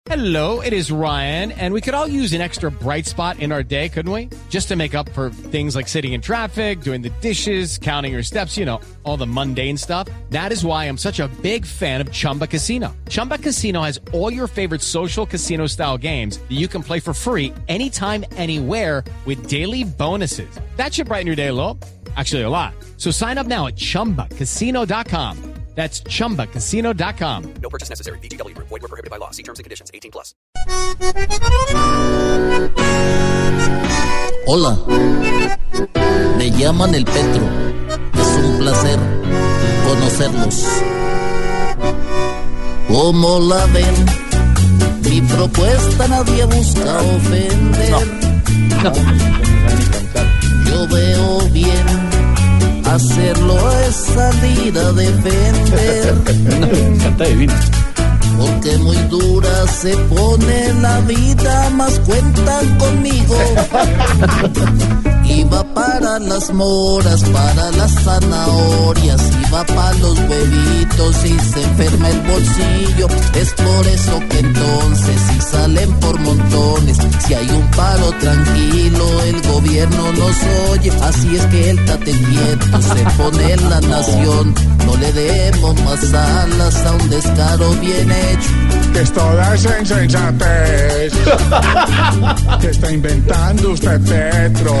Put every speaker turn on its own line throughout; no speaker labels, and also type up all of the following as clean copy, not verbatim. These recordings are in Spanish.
Hello, it is Ryan, and we could all use an extra bright spot in our day, couldn't we? Just to make up for things like sitting in traffic, doing the dishes, counting your steps, you know, all the mundane stuff. That is why I'm such a big fan of Chumba Casino. Chumba Casino has all your favorite social casino-style games that you can play for free anytime, anywhere with daily bonuses. That should brighten your day a little. Actually, a lot. So sign up now at ChumbaCasino.com. That's ChumbaCasino.com.
No purchase necessary. VGW Group. Void where prohibited by law. See terms and conditions. 18+.
Hola, me llaman el Petro. Es un placer conocerlos. Como la ven, mi propuesta nadie busca ofender. Yo veo bien. Hacerlo es salir a defender. Porque muy dura se pone la vida, más cuentan conmigo. Iba para las moras, para las zanahorias, iba para los huevitos y se enferma el bolsillo. Es por eso que entonces si salen por montones, si hay un paro tranquilo, el gobierno nos oye. Así es que el tate quieto se pone en la nación. No le demos más alas a un descaro bien hecho.
Que es toda esa insensatez que está inventando usted, Petro.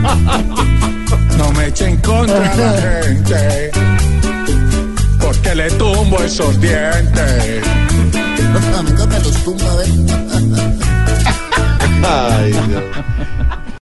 No me eche en contra a la gente, porque le tumbo esos dientes.
Nunca me los tumba, a ver.
Ay, Dios.